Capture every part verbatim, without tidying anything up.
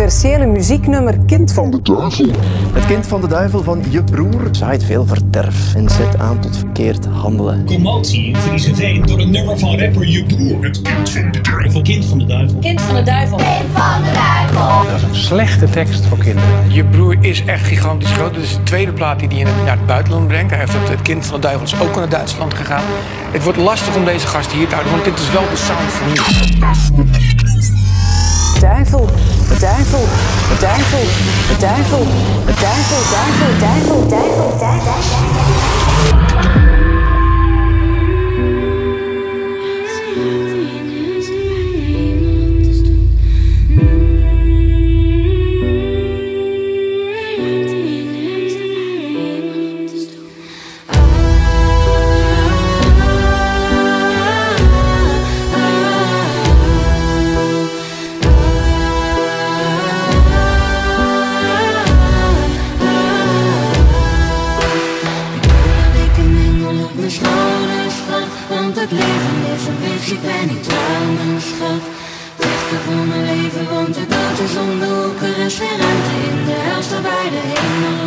controversiële muzieknummer Kind van de Duivel. Het kind van de duivel van je broer zaait veel verderf en zet aan tot verkeerd handelen. Commotie in Friezenveen door een nummer van rapper je broer. Het kind van de duivel. Kind van de duivel. Kind van de duivel. Kind van de duivel. Dat is een slechte tekst voor kinderen. Je broer is echt gigantisch groot. Dit is de tweede plaat die hij naar het buitenland brengt. Hij heeft het, het kind van de duivel is ook naar Duitsland gegaan. Het wordt lastig om deze gast hier te houden, want dit is wel de sound van nu. Duivel, duivel, duivel, duivel, duivel, duivel, duivel, duivel, duivel. Het leven is een bitch, ik ben niet trouw, mijn schat. Vechten voor mijn leven, want de dood is om de hoek. Er is geen ruimte in de helft bij de hemel.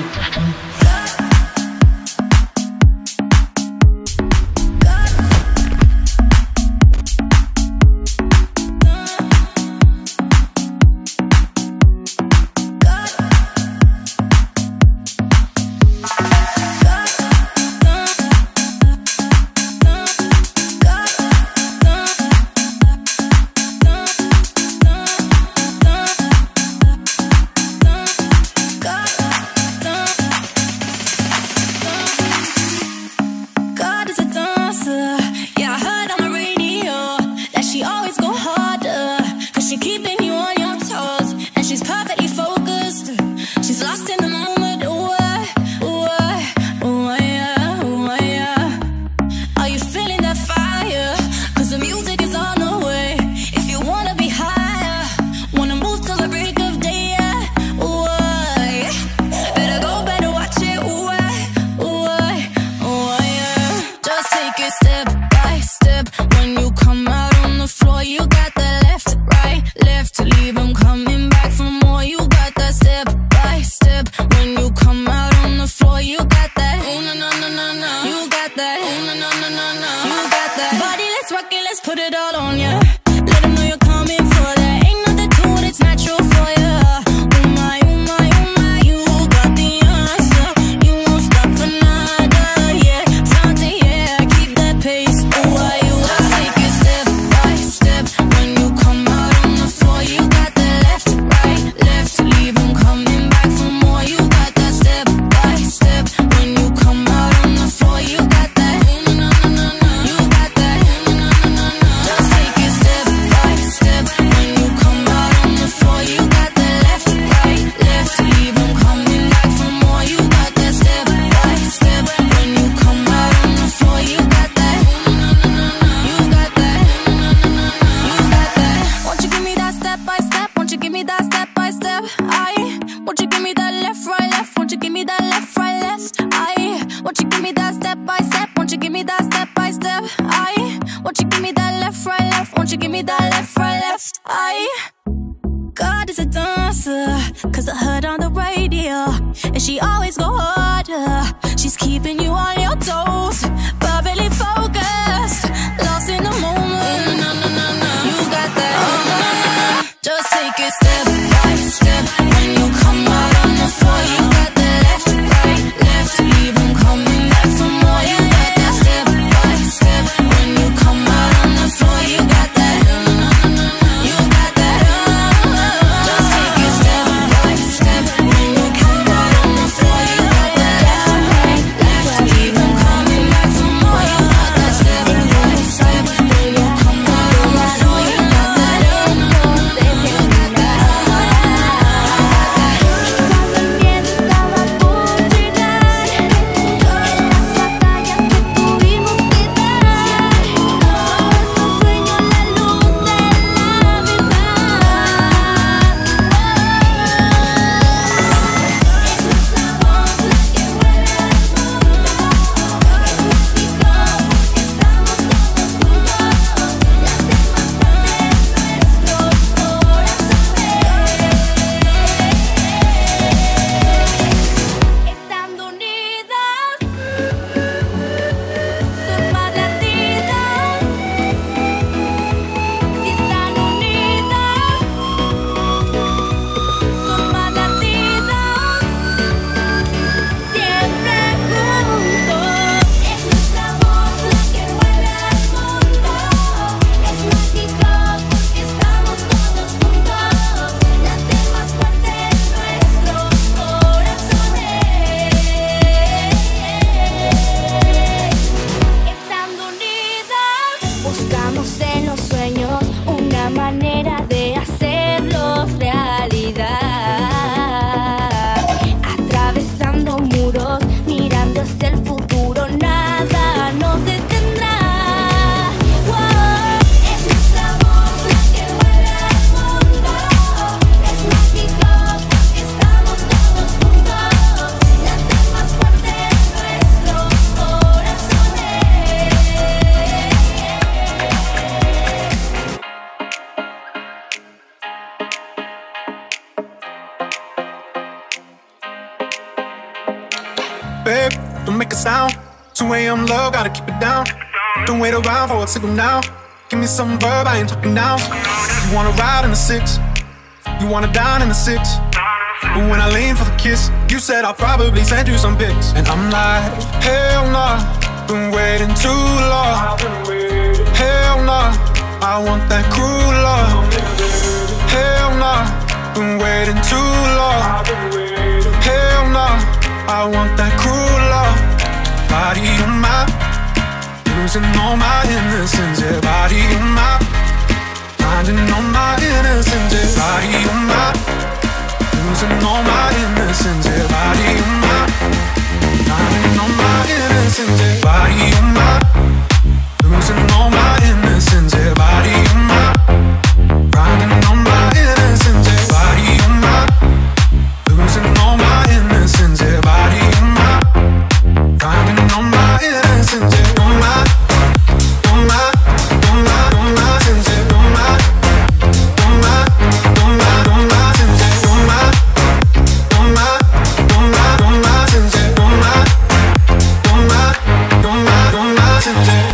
I'm low, gotta keep it down. Don't wait around for a signal now. Give me some verb, I ain't talking now. You wanna ride in the six, you wanna dine in the six. But when I lean for the kiss, you said I'll probably send you some pics. And I'm like, hell nah, been waiting too long. Hell nah, I want that cruel love. Hell nah, been waiting too long. Hell nah, I want that cruel love. Body on my, losing all my innocence. Yeah, body on my, finding all my innocence. Yeah, body on my, losing all my innocence. Yeah, body on my, finding all my innocence. Yeah, body on my, losing all my innocence. Yeah, body on my, finding all my innocence. Yeah, body on my, losing all my innocence. Yeah, body on my, finding all my innocence. Yeah, on my, on my, on my, on my sense. Yeah, on my, on my, on my, on my sense. Yeah, on my, on my, on my, on my sense. Yeah, on my, on my, on my, on my sense. Yeah.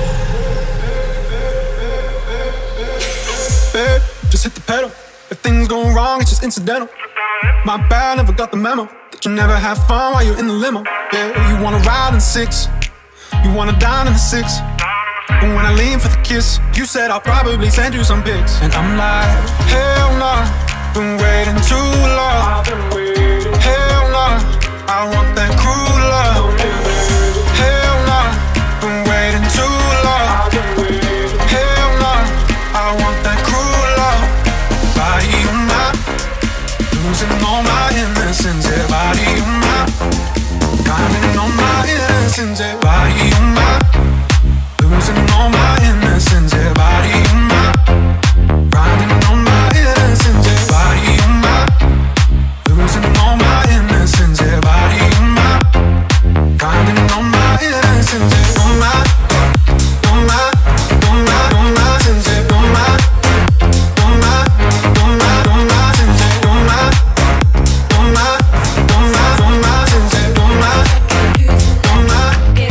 Babe, just hit the pedal. If things go wrong, it's just incidental. My bad, never got the memo that you never have fun while you're in the limo. Yeah, you wanna ride in six, you wanna dine in the six. But when I lean for the kiss, you said I'll probably send you some pics. And I'm like, hell nah, been waiting too long. Hell nah, I want that cruel love. Hell nah, been waiting too long. Hell nah, I want that cruel love. Body on my, losing all my innocence. Yeah, body on my, finding all my innocence. Yeah, body on my, losing all my innocence. Yeah, body on my, finding all my innocence. Yeah, body on my, losing all my innocence. Yeah, body on my, finding all my innocence. Yeah, on my, on my, on my, on my sense. Yeah, on my, on my, on my, on my sense. Yeah, on my, on my, on my, on my sense. Yeah, on my, on my.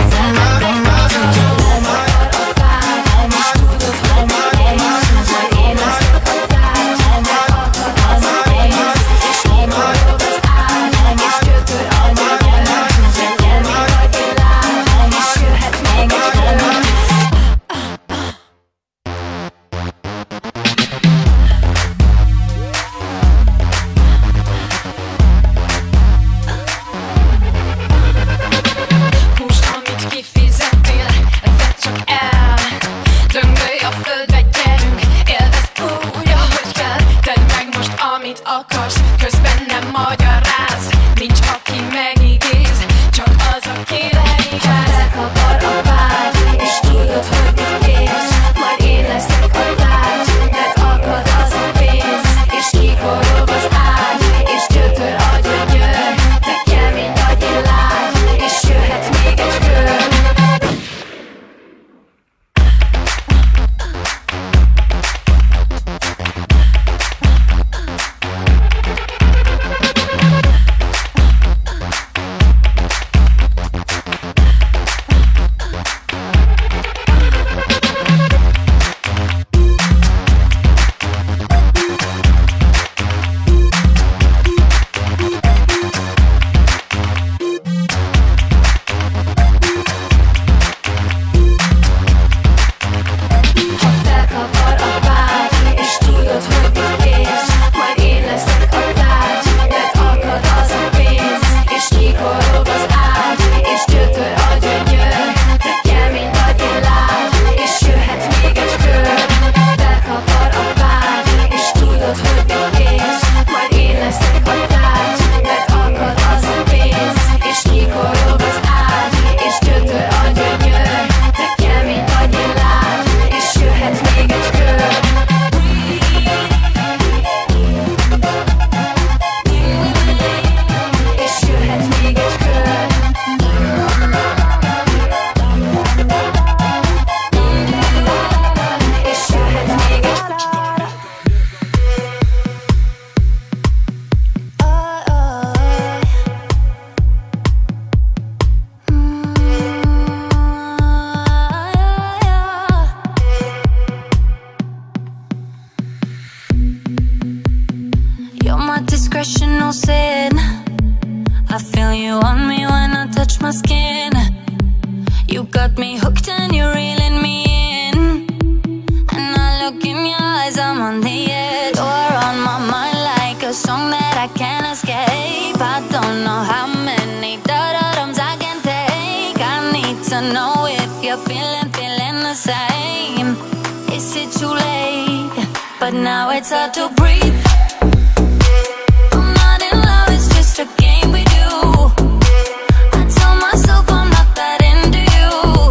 but now it's hard to breathe. I'm not in love, it's just a game we do. I tell myself I'm not that into you,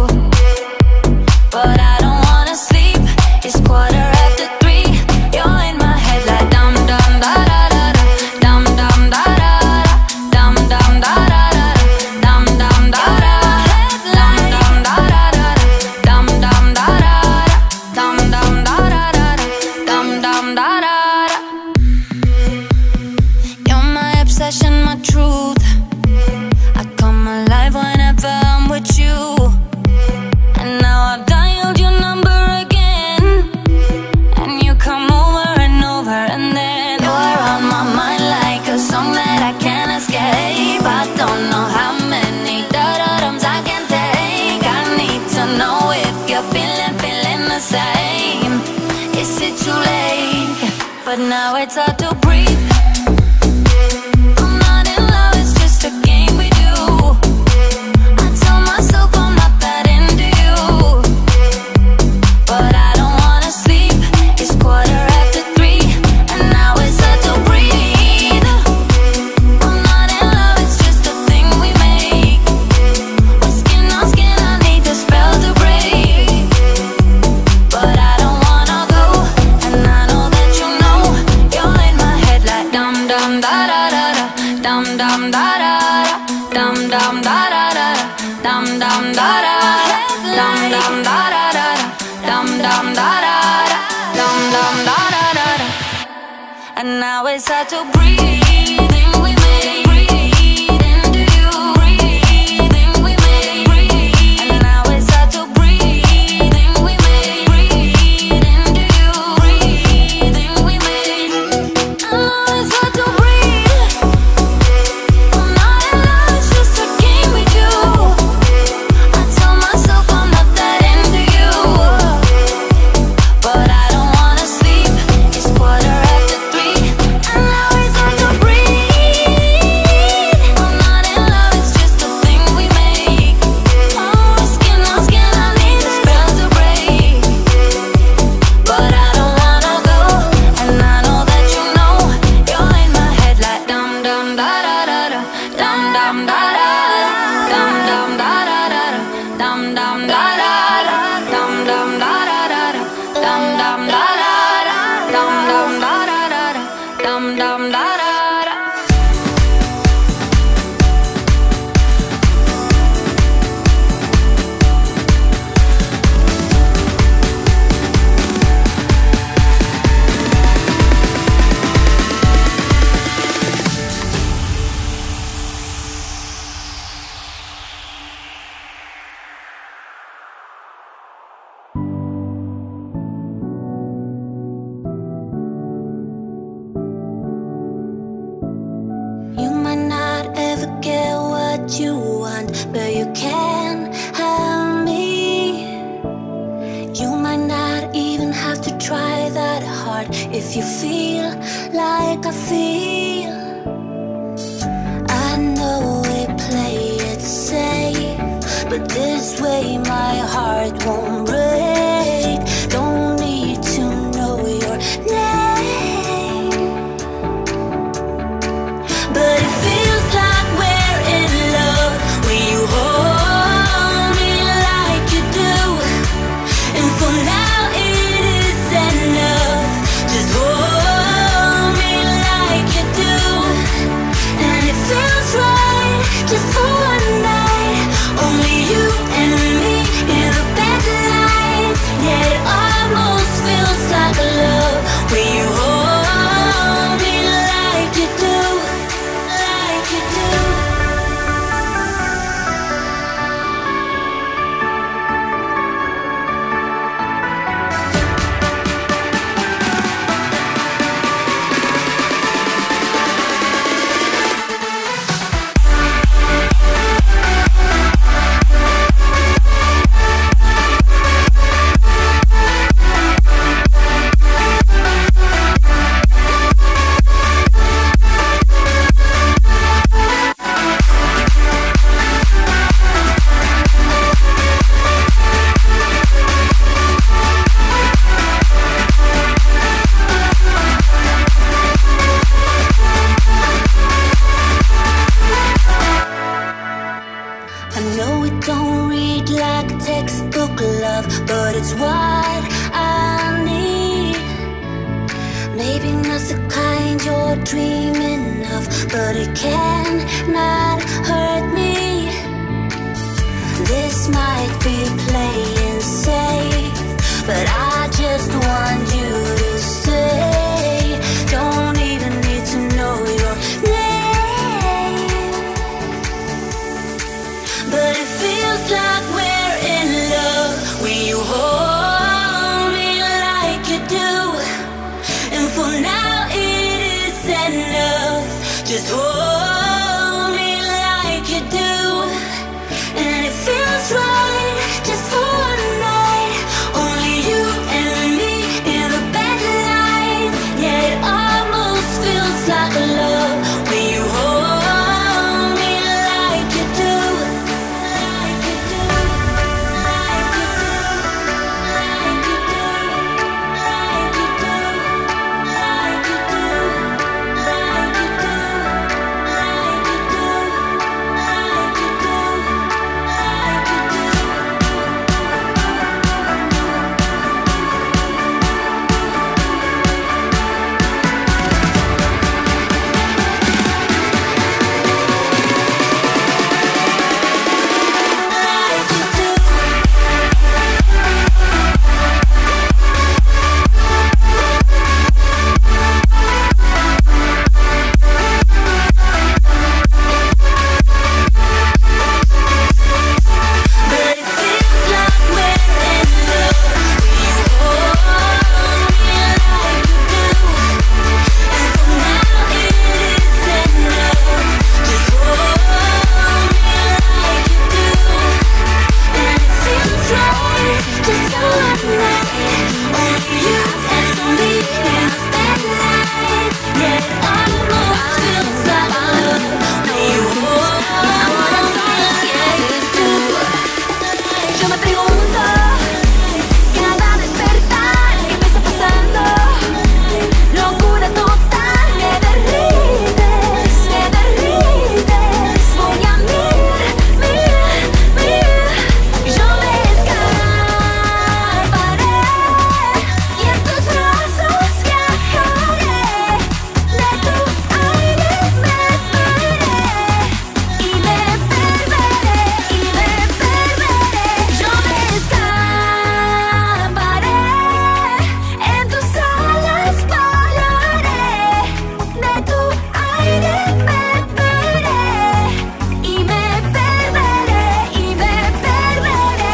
but I don't wanna sleep. It's quarter after three. You're in my head like dum dum da da da da, dum dum da da da, dum dum da da da, dum dum da da, dum dum da da da, dum dum da da, dum dum da da da, dum dum da da. You're my obsession, my truth. I come alive whenever I'm with you. And now I've dialed your number again, and you come over and over, and then you're on my mind like a song that I can't escape. I don't know how many da-da-dums I can take. I need to know if you're feeling, feeling the same. Is it too late? But now it's hard to breathe. I'm not in love, it's just a game we do. I tell myself I'm not that into you, but I don't wanna sleep. It's quarter after three, and now it's hard to breathe. I'm not in love, it's just a thing we make. We're skin on skin, I need the spell to break, but I don't wanna go, and I know that you know. You're in my head like dum dum da da da da, dum dum da da da, dum dum da da da, dum dum da da, dum dum da da da, dum dum da da, dum dum da da da. And now it's hard to breathe. Thing we made, breathe into you. Breathing we made, breathe. And now it's hard to breathe. Thing we made, breathe into you. Breathing we made. And now it's hard to breathe. I'm not in love, it's just a game we do. I tell myself I'm not that into you, but I don't wanna sleep. It's quarter after three, and now it's hard to breathe. I'm not in love, it's just a thing we make. Oh, skin on skin, I need the spell to break, but I don't wanna go, and I know that you know. You're in my head like dum dum da da da da, dum dum da da da, dum dum da da da da, dum dum da da da, dum dum da da da da, dum dum da da da, dum dum da da da da, dum dum da da da. You might not ever get what you want, but you can have me. You might not even have to try that hard if you feel like I feel. I know we play it safe, but this way my heart won't break. Don't need to know your name, but it feels like we're in love when you hold me like you do. And for now it is enough. Just hold me like you do. And it feels right just for one night. Only you and me in a bed like love, but it's what I need. Maybe not the kind you're dreaming of, but it cannot hurt me. This might be playing safe, but I just want you to stay. Don't even need to know your name, but it feels like we're in love when you hold me like you do. And for now it is enough. Just hold me like you do. And it feels right just for one night. Only you and me in the bed lights. Yeah, it almost feels like love when you hold me like you do. Like you do. Like you do. Like you do. Like you do. Like you do. Like you do. Like you do. Like you do. Yo me pregunto, cada despertar, ¿qué me está pasando? Locura total, me derrites, me derrites. Voy a mil, mil, mil. Yo me escaparé y en tus brazos viajaré. De tu aire me perderé y me perderé y me perderé. Yo me escaparé, en tus alas volaré. De tu aire me perderé y me perderé y me perderé.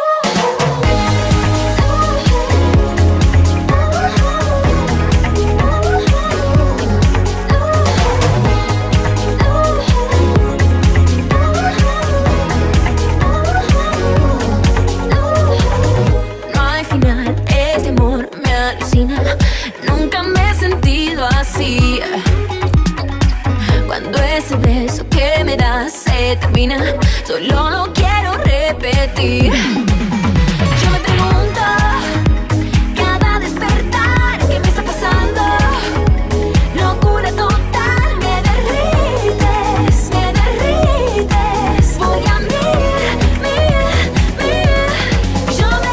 No hay final, este amor me alucina. Nunca me he sentido así. Cuando ese beso que me das se termina, solo lo quiero repetir. Yo me pregunto, cada despertar, ¿qué me está pasando? Locura total, me derrites, me derrites. Voy a mil, mil, mil. Yo me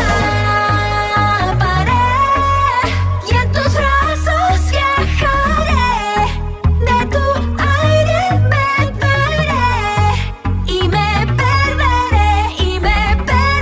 escaparé y en tus brazos viajaré. De tu aire me perderé y me perderé y me perderé.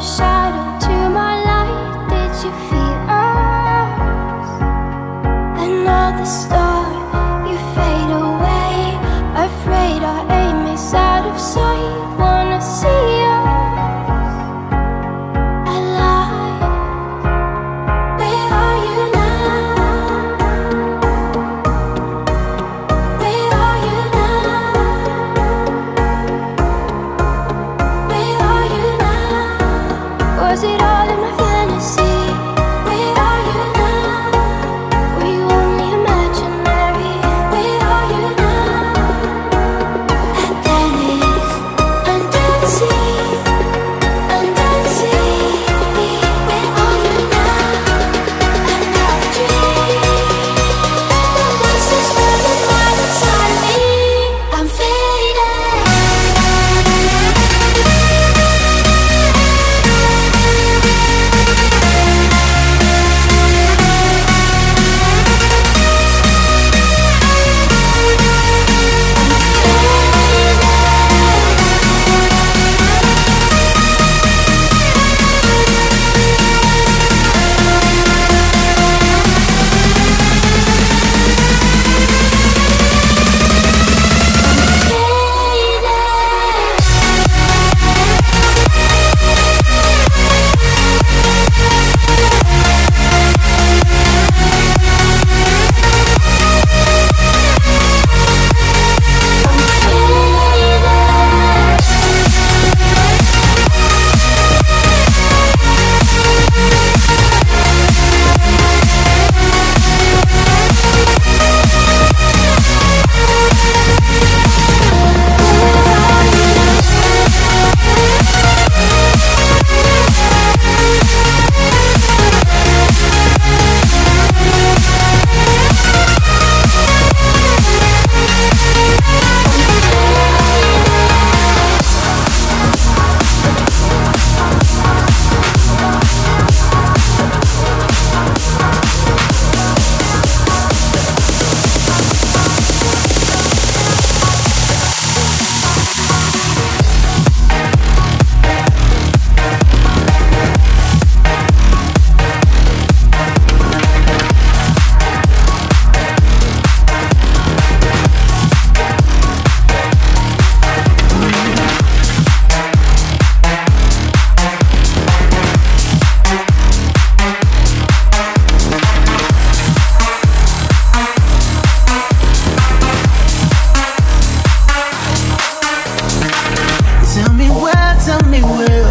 shadow to my light. Did you feel us? Another star, you fade away. Afraid our aim is out of sight. Wanna see us alive. Where are you now? Where are you now? Where are you now? Was it all in my fantasy? Where are you now? Were you only imaginary? Where are you now? At Dennis, under the sea, under the sea. Where are you now? Another dream. The monster's running wild inside of me. I'm fading. Tell me where, tell me where.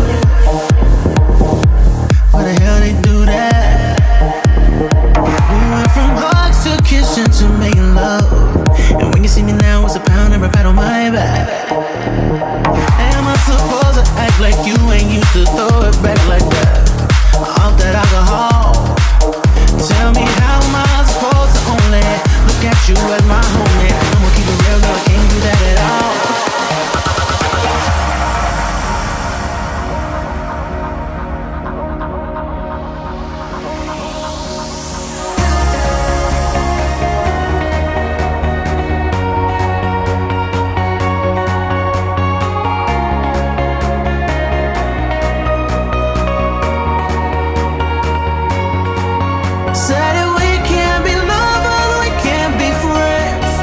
Why the hell they do that? We went from hugs to kissing to making love. And when you see me now, it's a pound and a pat on my back. Am I supposed to act like you ain't used to throw it back like that? Off that alcohol. Tell me how am I supposed to only look at you as my homie? I'm gonna keep it real, girl, I can't do that at all. Said that we can't be lovers, we can't be friends.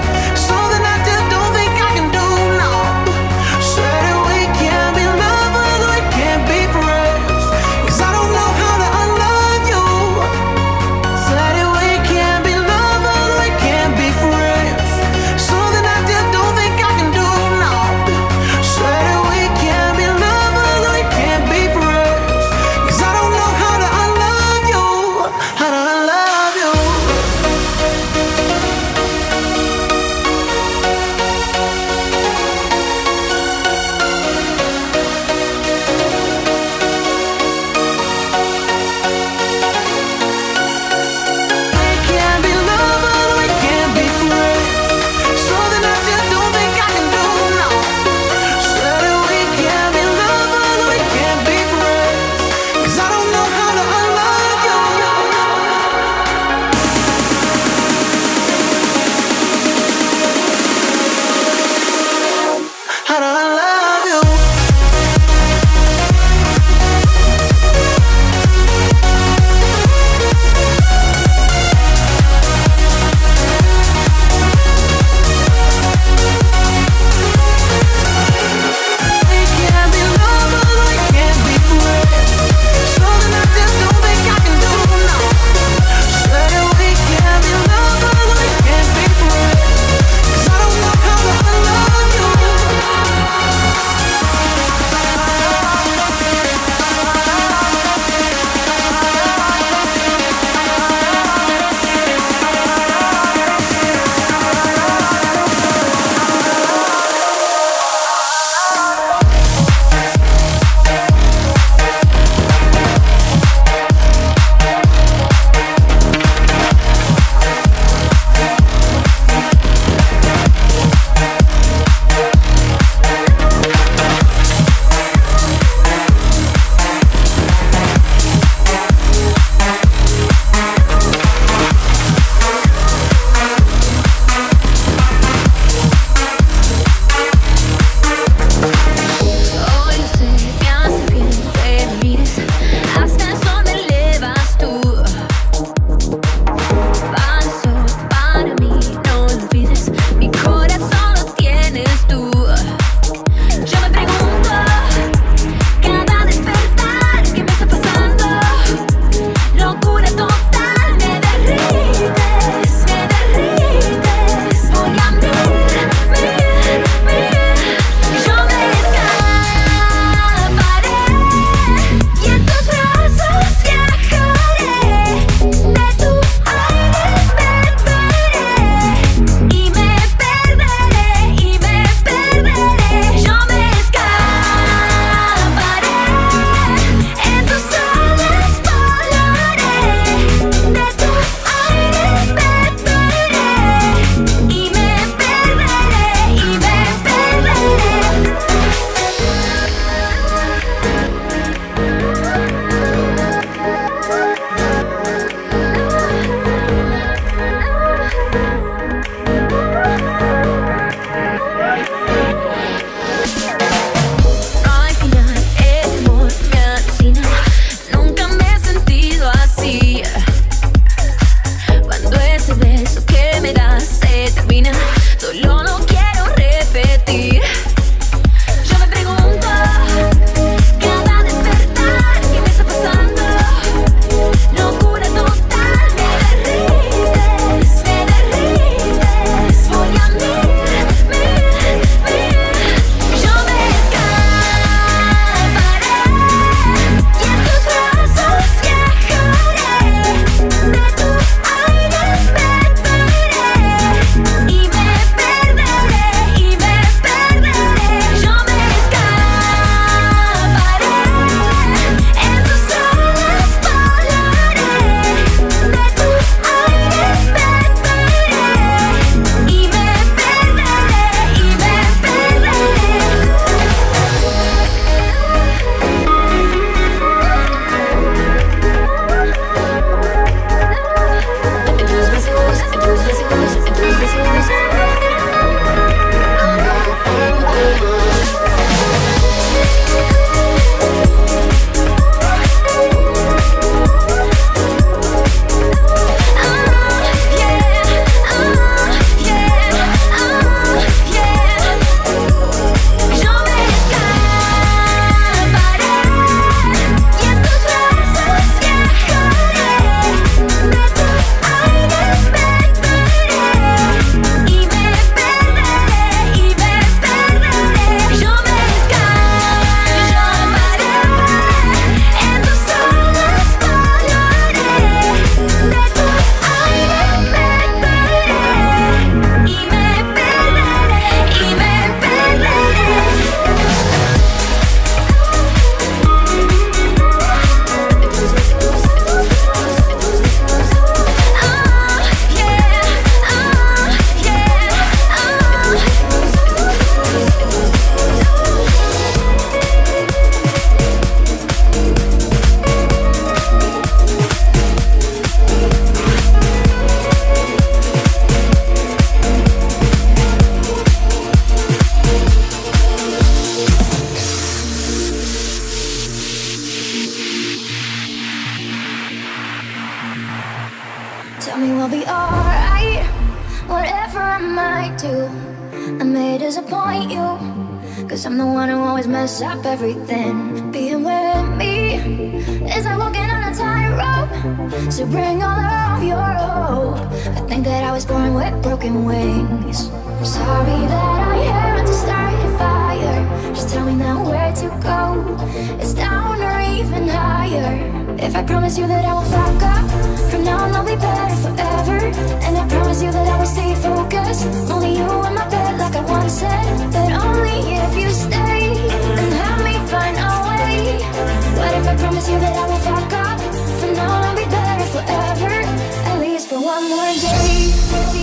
whatever I might do, I may disappoint you, cause I'm the one who always mess up everything. Being with me is like walking on a tightrope, so bring all of your hope. I think that I was born with broken wings. I'm sorry that I had to start a fire. Just tell me now where to go. It's down or even higher. If I promise you that I won't fuck up, from now on I'll be better forever. And I promise you that I will stay focused. Only you in my bed like I once said, but only if you stay and help me find a way. What if I promise you that I won't fuck up, from now on I'll be better forever, at least for one more day.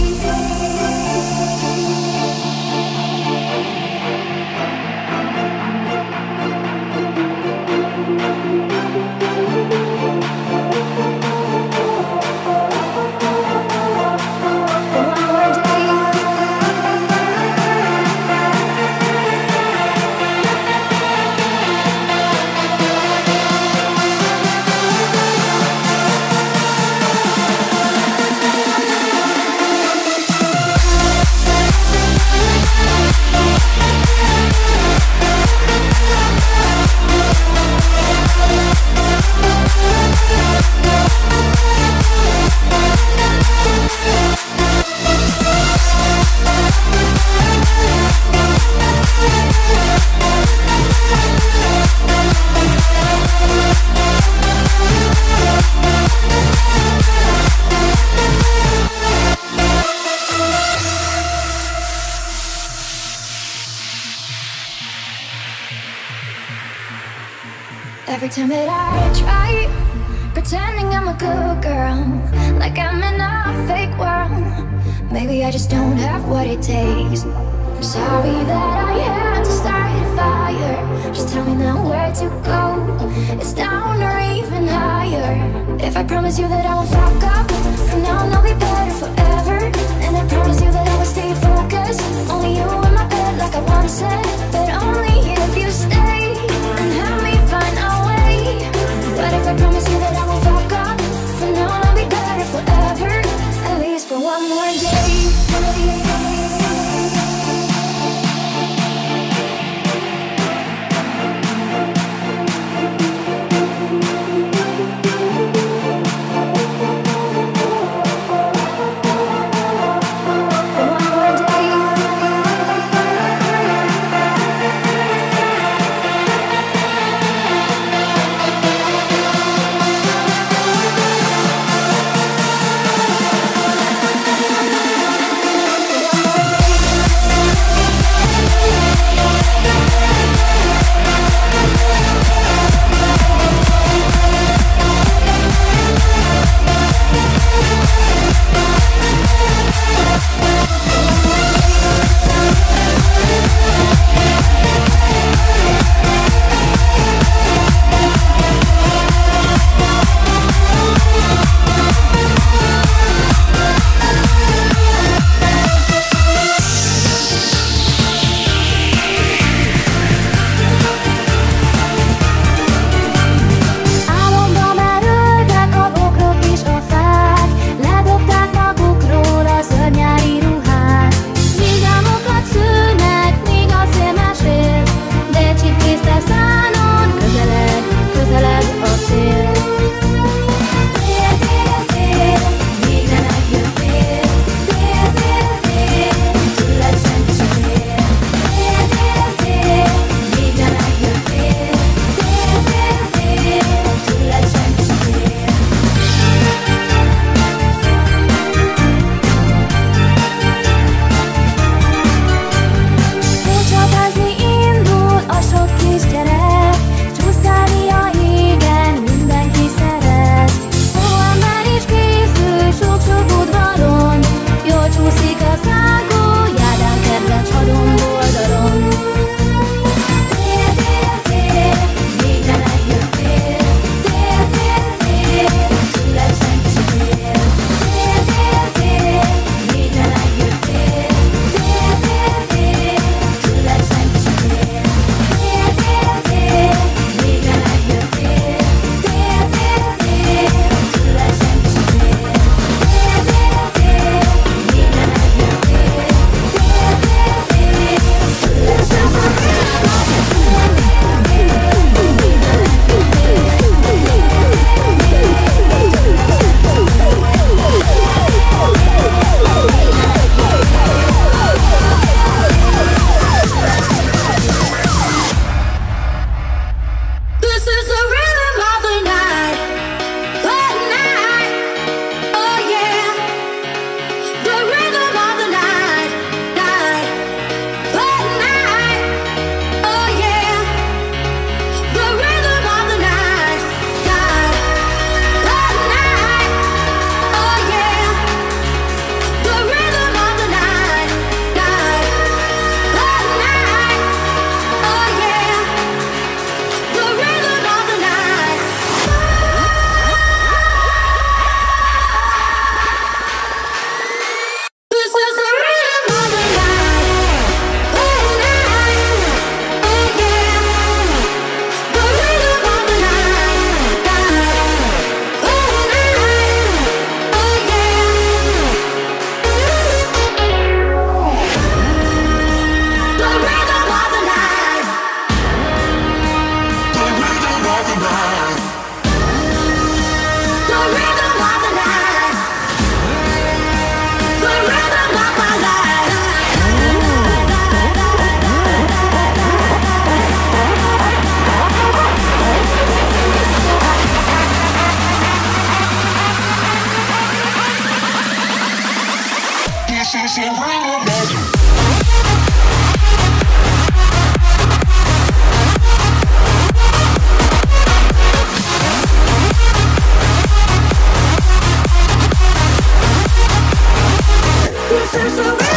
Every time that I try pretending I'm a good girl, like I'm in a fake world, maybe I just don't have what it takes. I'm sorry that I had to start a fire. Just tell me now where to go. It's down or even higher. If I promise you that I won't fuck up, from now on I'll be better forever. And I promise you that I will stay focused. Only you in my bed like I once said, but only if you stay and help me find a way. What if I promise you that I won't fuck up, from now on I'll be better forever, at least for one more day.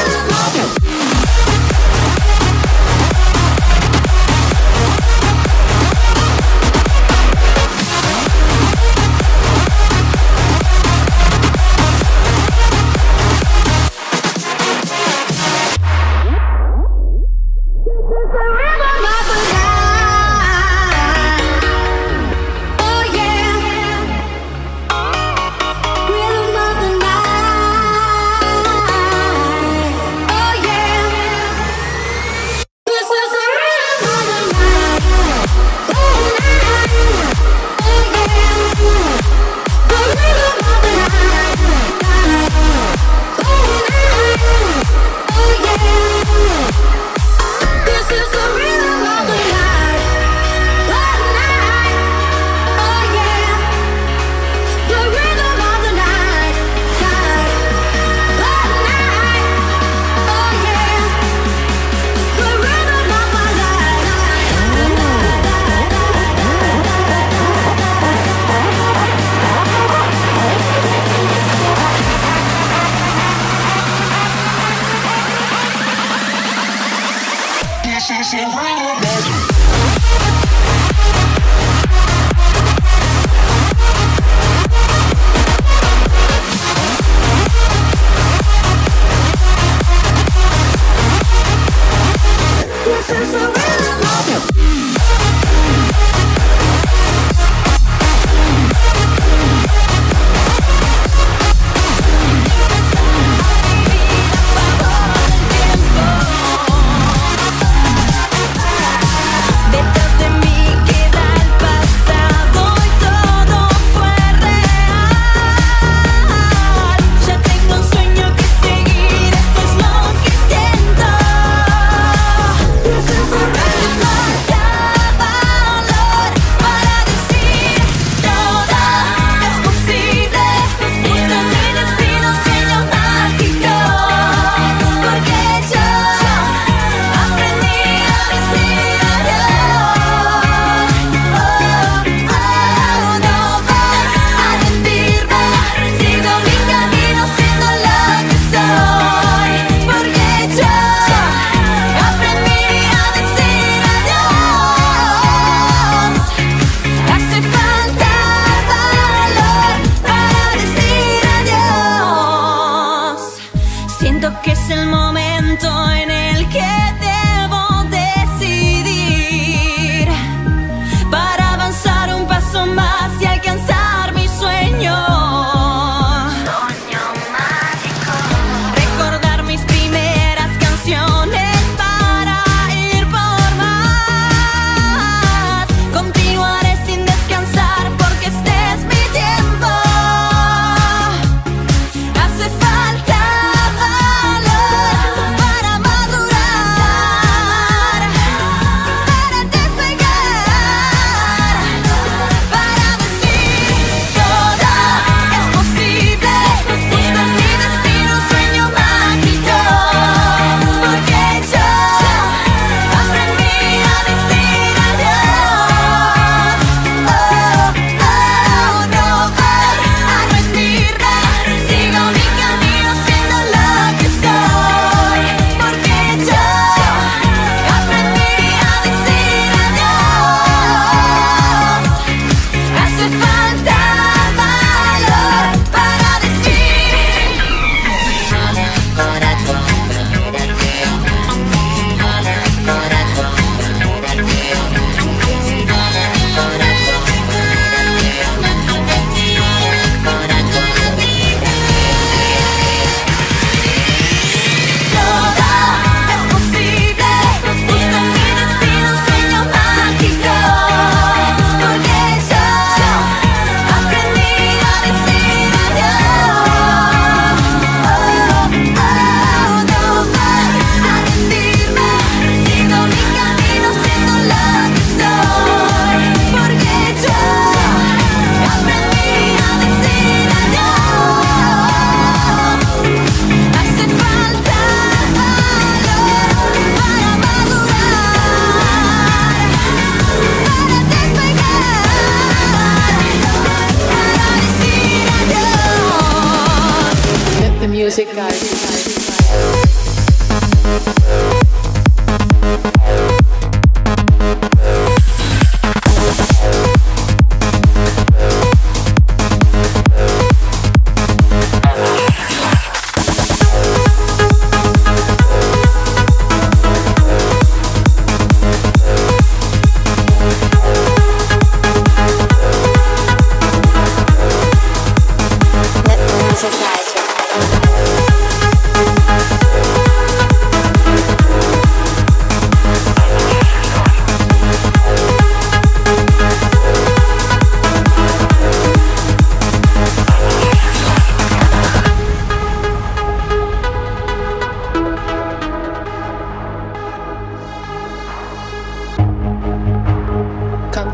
music, guys.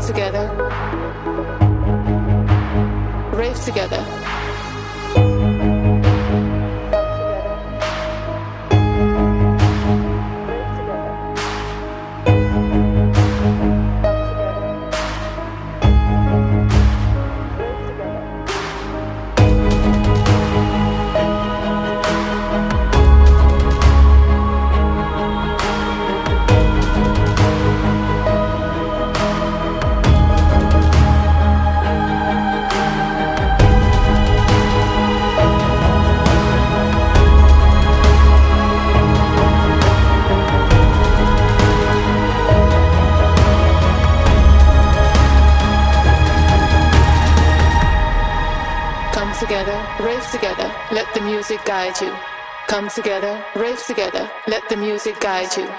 together. Rave together. Together, rave together, let the music guide you. Come together, rave together, let the music guide you.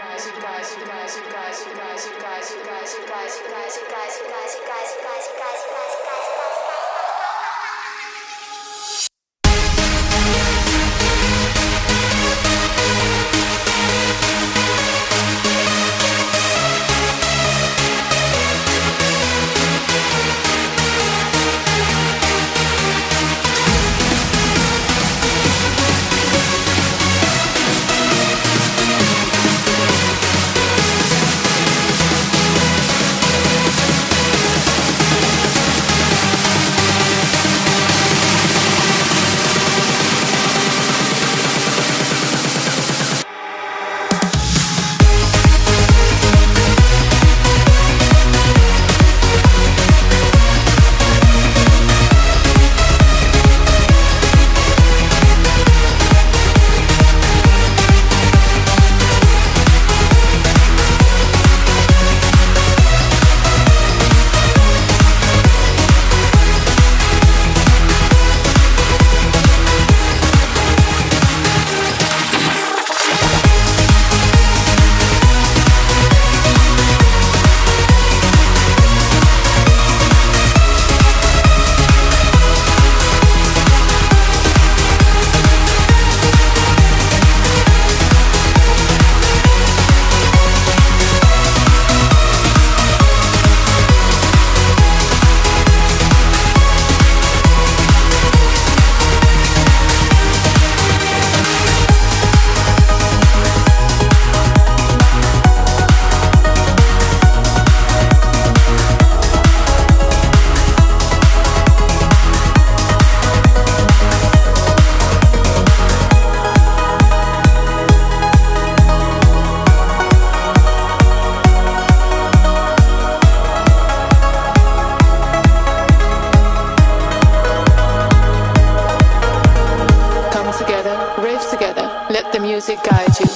Let the music guide you.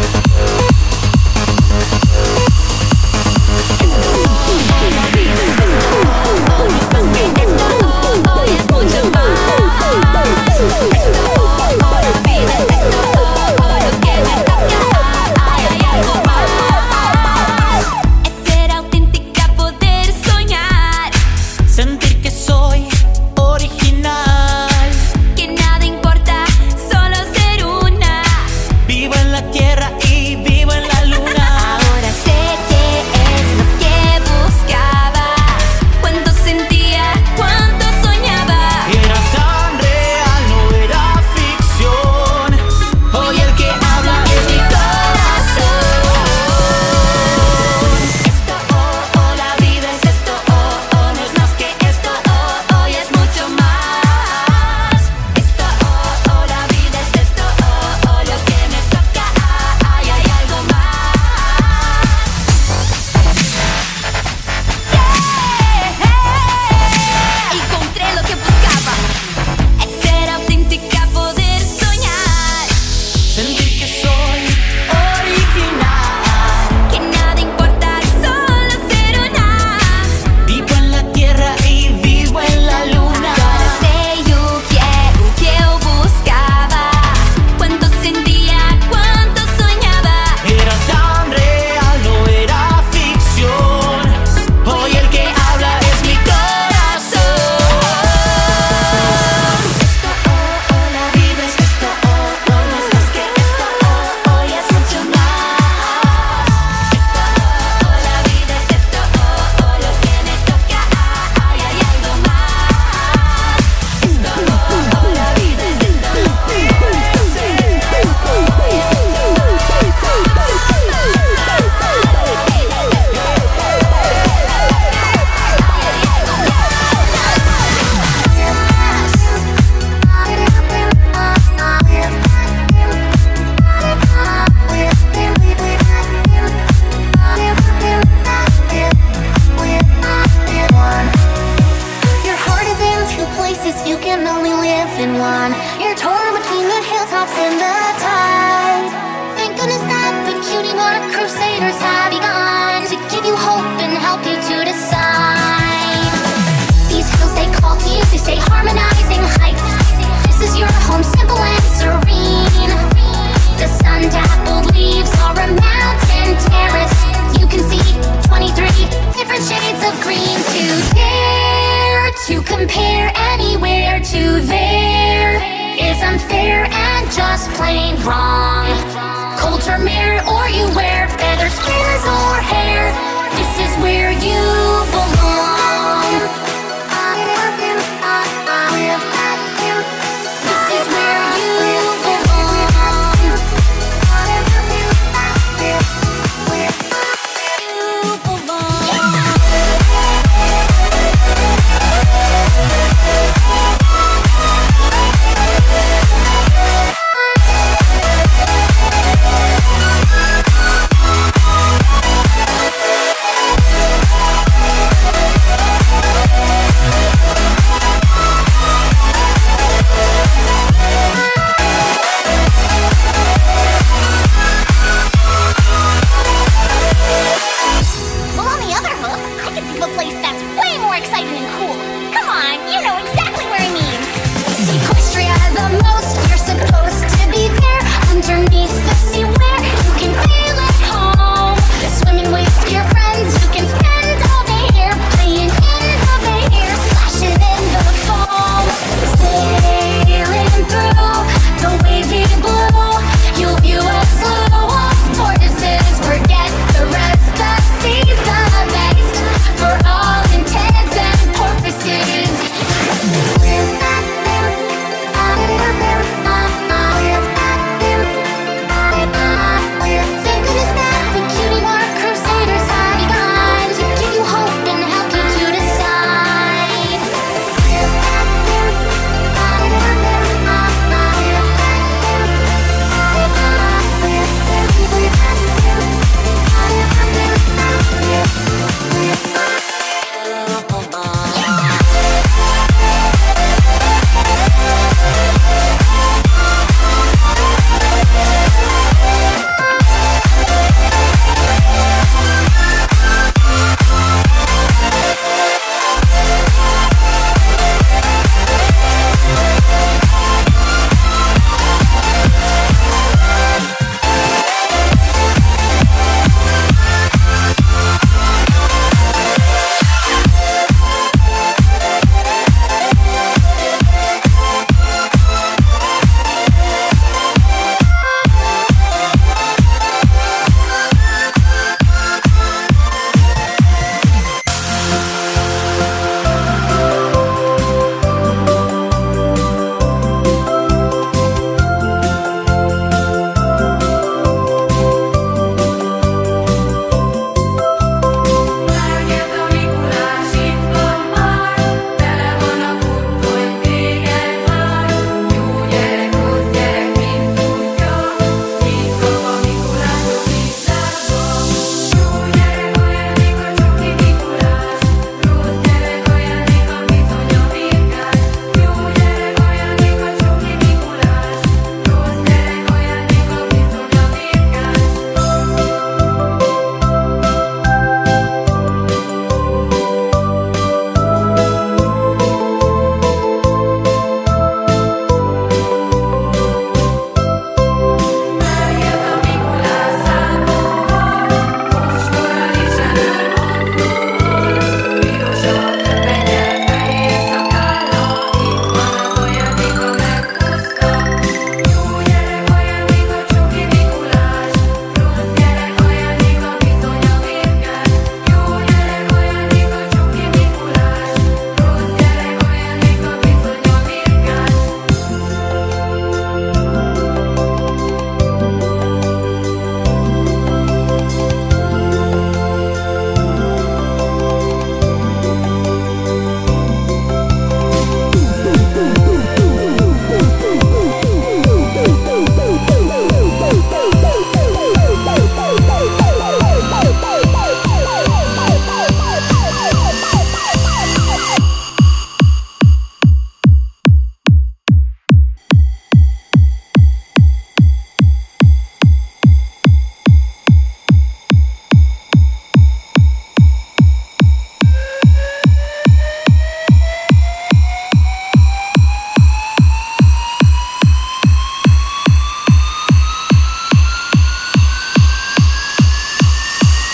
We'll be right back. you there is unfair and just plain wrong. Cold Tremere, or you wear feathers, spears, or hair. This is where you belong. This is where you belong. You belong. Well, on the other hook, I can think of a place that's way more exciting and cool. Come on, you know exactly where I mean. Sequestria the most, you're supposed to be there. Underneath the sea where you can feel at home. Swimming with your friends, you can spend all day here. Playing in the bay here, splashing in the foam. Sailing through the wavy blue, you'll view a slew of tortoises. Forget the rest, the sea's the best for all intents and purposes. Thank goodness that the cutie mark crusaders have begun to give you hope and help you to decide.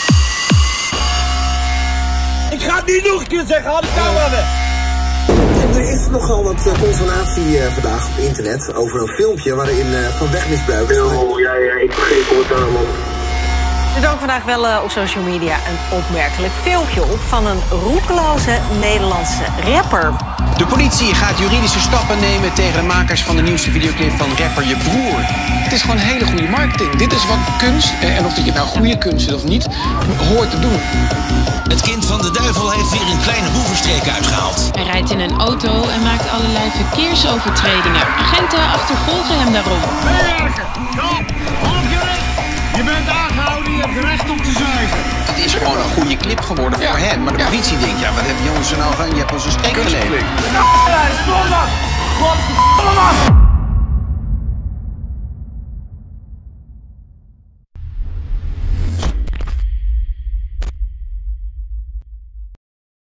Ik ga het niet nog een keer zeggen, haal de camera weg. Er is nogal wat uh, consternatie uh, vandaag op internet over een filmpje waarin uh, van wegmisbruik is. Oh, ja, ja, ik vergeet het daar, man. Er dook vandaag wel uh, op social media een opmerkelijk filmpje op van een roekeloze Nederlandse rapper. De politie gaat juridische stappen nemen tegen de makers van de nieuwste videoclip van rapper Je Broer. Het is gewoon hele goede marketing. Dit is wat kunst, en of dat je nou goede kunst is of niet, hoort te doen. Het kind van de duivel heeft weer een kleine boevenstreek uitgehaald. Hij rijdt in een auto en maakt allerlei verkeersovertredingen. Agenten achtervolgen hem daarom. Meewerken! Stop! Half je recht! Je bent aangehouden, je hebt recht om te zuigen. Het is gewoon een goede clip geworden voor ja. hem. Maar de ja. politie denkt, ja, wat heb je ons er nou van? Je hebt ons een streek geleverd. Ja, stop dan! Wat?